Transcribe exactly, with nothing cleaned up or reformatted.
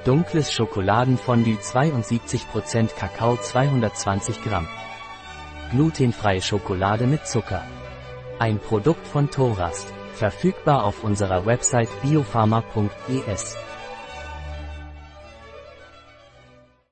Dunkles Schokoladenfondue zweiundsiebzig Prozent Kakao zweihundertzwanzig Gramm. Glutenfreie Schokolade mit Zucker. Ein Produkt von Thorast. Verfügbar auf unserer Website biopharma punkt es.